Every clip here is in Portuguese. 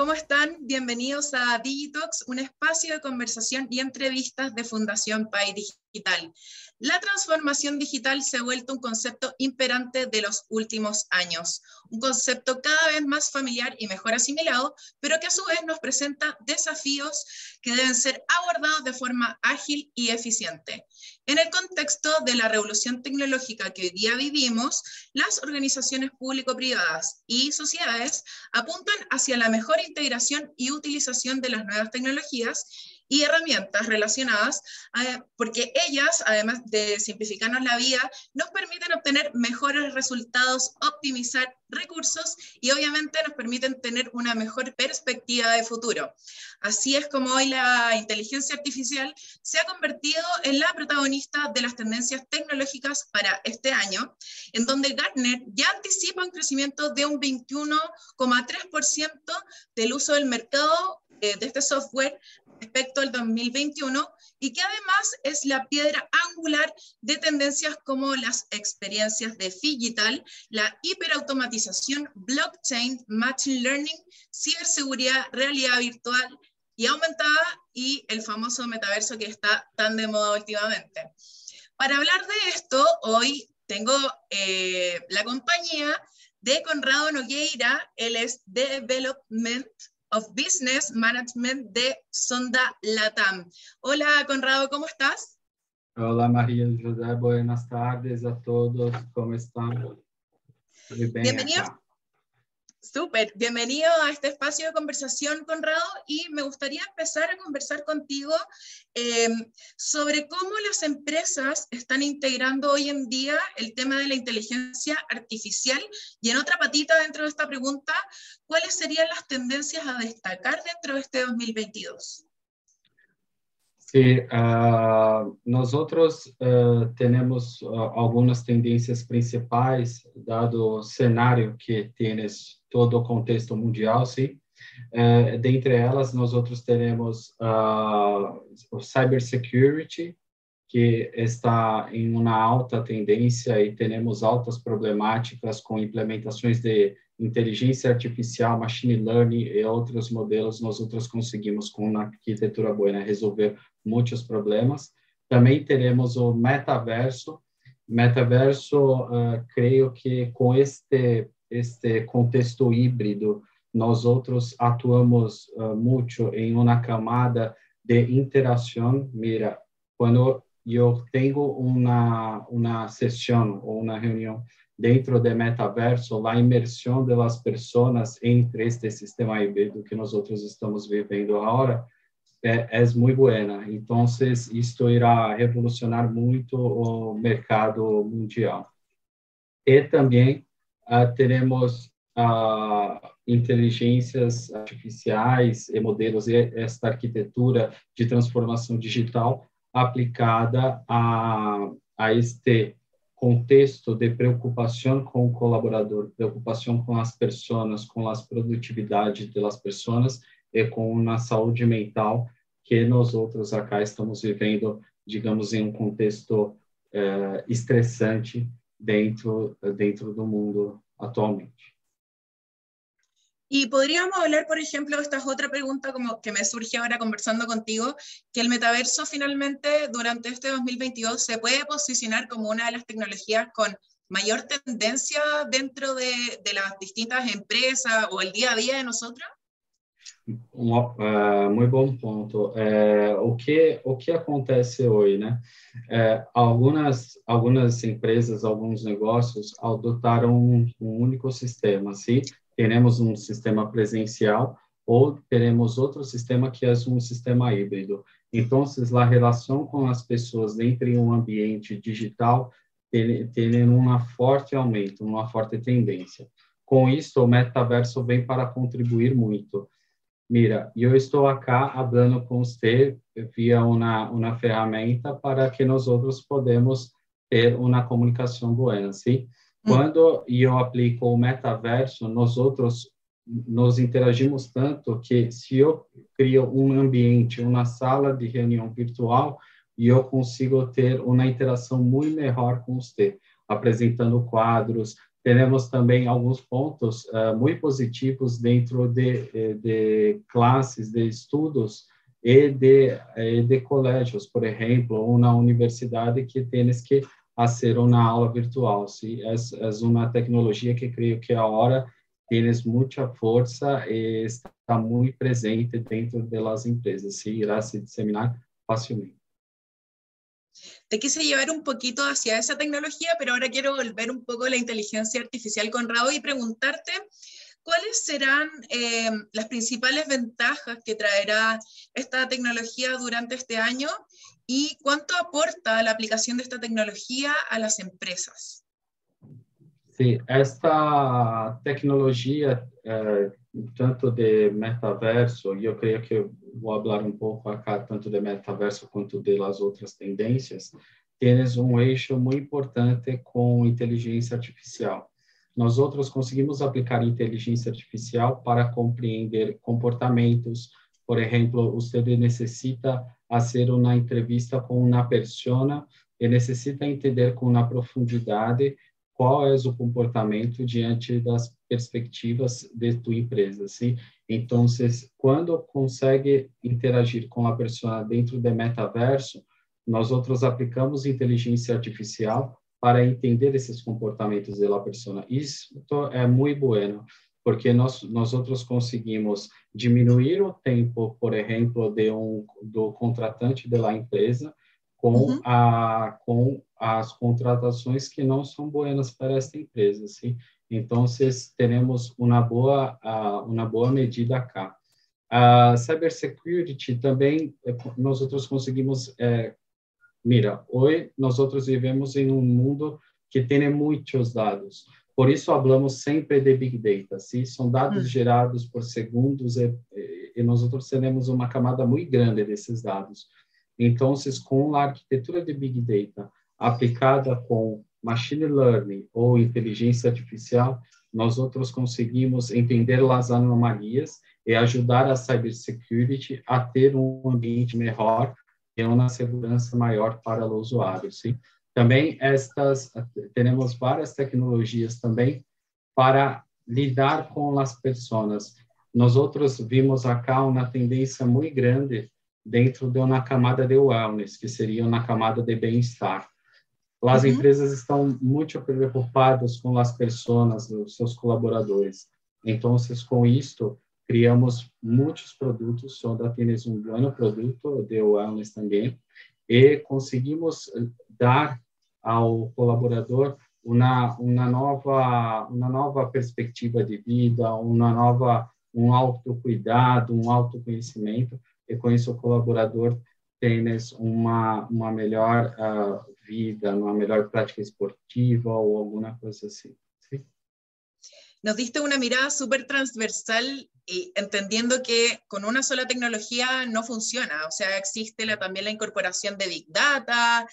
¿cómo están? Bienvenidos a Digitalks, un espacio de conversación y entrevistas de Fundación PAI Digital. La transformación digital se ha vuelto un concepto imperante de los últimos años, un concepto cada vez más familiar y mejor asimilado, pero que a su vez nos presenta desafíos que deben ser abordados de forma ágil y eficiente. En el contexto de la revolución tecnológica que hoy día vivimos, las organizaciones público-privadas y sociedades apuntan hacia la mejor integración y utilización de las nuevas tecnologías y herramientas relacionadas, porque ellas, además de simplificarnos la vida, nos permiten obtener mejores resultados, optimizar recursos y obviamente nos permiten tener una mejor perspectiva de futuro. Así es como hoy la inteligencia artificial se ha convertido en la protagonista de las tendencias tecnológicas para este año, en donde Gartner ya anticipa un crecimiento de un 21,3% del uso del mercado de este software respecto al 2021 y que además es la piedra angular de tendencias como las experiencias de digital, la hiperautomatización, blockchain, machine learning, ciberseguridad, realidad virtual y aumentada y el famoso metaverso que está tan de moda últimamente. Para hablar de esto, hoy tengo la compañía de Conrado Nogueira. Él es Development of Business Management de Sonda Latam. Hola, Conrado, ¿cómo estás? Hola, María José, buenas tardes a todos, ¿cómo están? Muy bien Bienvenido. acá. Súper, bienvenido a este espacio de conversación, Conrado, y me gustaría empezar a conversar contigo sobre cómo las empresas están integrando hoy en día el tema de la inteligencia artificial, y en otra patita dentro de esta pregunta, ¿cuáles serían las tendencias a destacar dentro de este 2022? Sí, nosotros tenemos algunas tendencias principais, dado o cenário que tienes todo o contexto mundial, sim. Dentre elas, nós outros teremos o cybersecurity, que está em uma alta tendência e temos altas problemáticas com implementações de inteligência artificial, machine learning e outros modelos. Nós outros conseguimos, com uma arquitetura boa, resolver muitos problemas. Também teremos o metaverso. Metaverso, creio que com este contexto híbrido, nós outros atuamos muito em uma camada de interação. Mira, quando eu tenho uma sessão ou uma reunião dentro do metaverso, a imersão das pessoas entre este sistema híbrido que nós outros estamos vivendo agora é muito boa. Então, isto irá revolucionar muito o mercado mundial. E também teremos inteligências artificiais e modelos e esta arquitetura de transformação digital aplicada a este contexto de preocupação com o colaborador, preocupação com as pessoas, com as produtividades das pessoas e com uma saúde mental que nós outros acá estamos vivendo, digamos, em um contexto estressante dentro do mundo atualmente. Y podríamos hablar, por ejemplo, esta es otra pregunta como que me surge ahora conversando contigo, que el metaverso finalmente durante este 2022 se puede posicionar como una de las tecnologías con mayor tendencia dentro de las distintas empresas o el día a día de nosotros. Muito bom ponto. O que acontece hoje, né? Algumas empresas, alguns negócios adotaram um único sistema, sim? Teremos um sistema presencial ou teremos outro sistema que é um sistema híbrido. Então, a relação com as pessoas dentro de um ambiente digital tem um forte aumento, uma forte tendência. Com isso, o metaverso vem para contribuir muito. Mira, eu estou acá falando com você via uma ferramenta para que nós outros podemos ter uma comunicação boa, sim? Quando eu aplico o metaverso, nós outros nos interagimos tanto que se eu crio um ambiente, uma sala de reunião virtual, eu consigo ter uma interação muito melhor com você, apresentando quadros, temos também alguns pontos muito positivos dentro de classes, de estudos e de colégios, por exemplo, ou na universidade que tens que fazer uma aula virtual. Sim? É uma tecnologia que creio que agora tens muita força e está muito presente dentro das empresas. Sim? Irá se disseminar facilmente. Te quise llevar un poquito hacia esa tecnología, pero ahora quiero volver un poco a la inteligencia artificial, Conrado, y preguntarte cuáles serán las principales ventajas que traerá esta tecnología durante este año y cuánto aporta la aplicación de esta tecnología a las empresas. Sim, esta tecnologia, tanto de metaverso, e eu creio que eu vou falar um pouco acá, tanto de metaverso quanto de las outras tendências, temos um eixo muito importante com inteligência artificial. Nós outros conseguimos aplicar inteligência artificial para compreender comportamentos. Por exemplo, você necessita fazer uma entrevista com uma pessoa e necessita entender com uma profundidade qual é o comportamento diante das perspectivas de tua empresa, sim? Então, quando consegue interagir com a pessoa dentro do metaverso, nós outros aplicamos inteligência artificial para entender esses comportamentos da pessoa. Isso é muito bueno, porque nós outros conseguimos diminuir o tempo, por exemplo, do contratante da empresa com as contratações que não são boas para esta empresa, sim? Então, teremos uma boa medida cá. A cybersecurity também, nós outros conseguimos, mira, hoje nós outros vivemos em um mundo que tem muitos dados, por isso falamos sempre de Big Data, sim? São dados gerados por segundos e nós outros teremos uma camada muito grande desses dados. Então, com a arquitetura de Big Data aplicada com Machine Learning ou inteligência artificial, nós outros conseguimos entender as anomalias e ajudar a cybersecurity a ter um ambiente melhor e uma segurança maior para o usuário. Sim? Também temos várias tecnologias também para lidar com as pessoas. Nós outros vimos acá uma tendência muito grande dentro de uma camada de wellness, que seria uma camada de bem-estar. As empresas estão muito preocupadas com as pessoas, os seus colaboradores. Então, com isto, criamos muitos produtos, só temos um bom produto de wellness também, e conseguimos dar ao colaborador uma nova perspectiva de vida, um autocuidado, um autoconhecimento, e com isso o colaborador tem uma melhor vida, uma melhor prática esportiva ou alguma coisa assim. ¿Sí? Nos diste una mirada súper transversal y entendiendo que con una sola tecnología no funciona, o sea, existe también la incorporación de Big Data,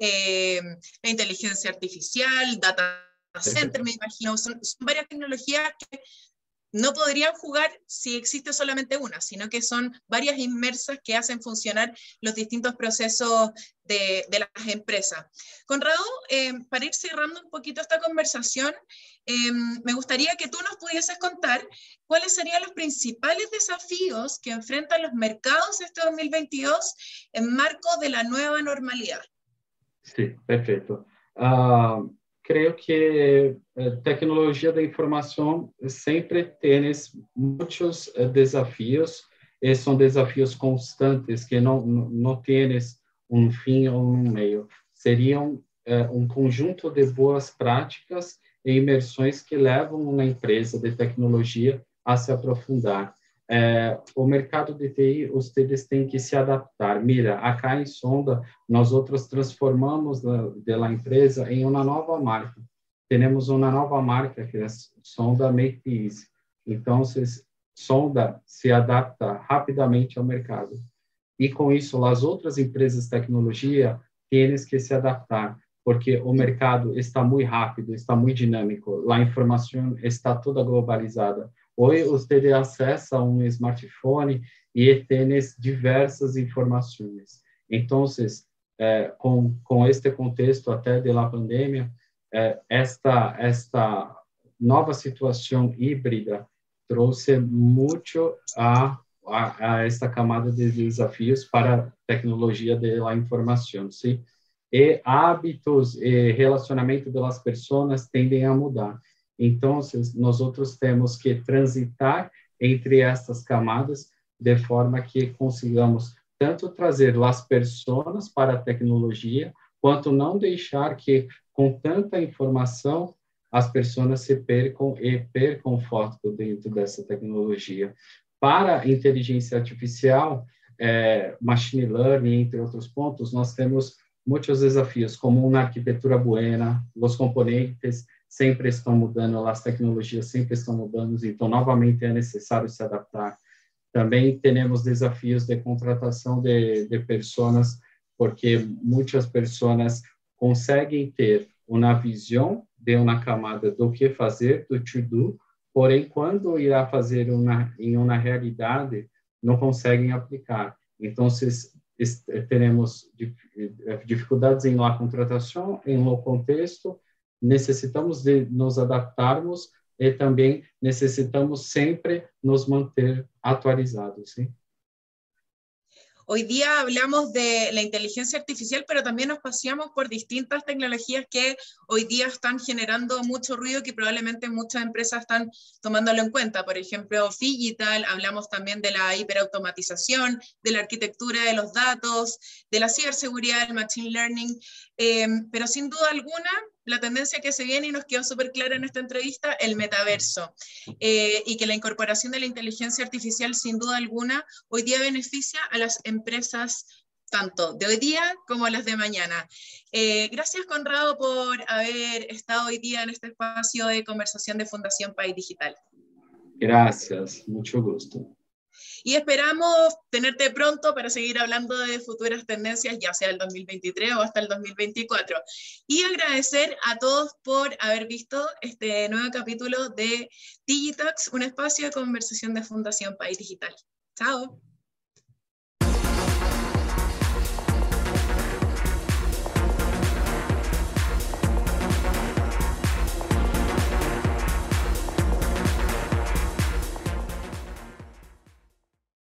la inteligencia artificial, Data Center, me imagino, son varias tecnologías que no podrían jugar si existe solamente una, sino que son varias inmersas que hacen funcionar los distintos procesos de las empresas. Conrado, para ir cerrando un poquito esta conversación, me gustaría que tú nos pudieses contar cuáles serían los principales desafíos que enfrentan los mercados este 2022 en marco de la nueva normalidad. Sí, perfecto. Creio que tecnologia da informação sempre tem muitos desafios, e são desafios constantes que não têm um fim ou um meio. Seriam um conjunto de boas práticas e imersões que levam uma empresa de tecnologia a se aprofundar. O mercado de TI, vocês têm que se adaptar. Mira, acá em Sonda, nós outros transformamos da empresa em uma nova marca. Temos uma nova marca que é Sonda Make Easy. Então, Sonda se adapta rapidamente ao mercado. E com isso, as outras empresas de tecnologia têm que se adaptar, porque o mercado está muito rápido, está muito dinâmico, a informação está toda globalizada. Hoje, você acessa um smartphone e tem diversas informações. Então, com este contexto até da pandemia, esta nova situação híbrida trouxe muito a esta camada de desafios para a tecnologia da informação, sim? E hábitos e relacionamento das pessoas tendem a mudar. Então, nós outros temos que transitar entre estas camadas de forma que consigamos tanto trazer as pessoas para a tecnologia, quanto não deixar que, com tanta informação, as pessoas se percam e percam foco dentro dessa tecnologia. Para a inteligência artificial, machine learning, entre outros pontos, nós temos muitos desafios, como uma arquitetura buena, os componentes sempre estão mudando, as tecnologias sempre estão mudando, então, novamente, é necessário se adaptar. Também temos desafios de contratação de pessoas, porque muitas pessoas conseguem ter uma visão de uma camada do que fazer, do to-do, porém, quando irá fazer em uma realidade, não conseguem aplicar. Então, teremos dificuldades em la contratação, em lo contexto, necessitamos de nos adaptarmos e também necessitamos sempre nos manter atualizados, ¿sí? Hoy día hablamos de la inteligencia artificial, pero también nos paseamos por distintas tecnologías que hoy día están generando mucho ruido, que probablemente muchas empresas están tomándolo en cuenta. Por ejemplo, Digital, hablamos también de la hiperautomatización, de la arquitectura de los datos, de la ciberseguridad, el machine learning, pero sin duda alguna, la tendencia que se viene y nos quedó súper clara en esta entrevista, el metaverso, y que la incorporación de la inteligencia artificial, sin duda alguna, hoy día beneficia a las empresas tanto de hoy día como las de mañana. Gracias, Conrado, por haber estado hoy día en este espacio de conversación de Fundación País Digital. Gracias, mucho gusto. Y esperamos tenerte pronto para seguir hablando de futuras tendencias, ya sea el 2023 o hasta el 2024. Y agradecer a todos por haber visto este nuevo capítulo de Digitalks, un espacio de conversación de Fundación País Digital. Chao.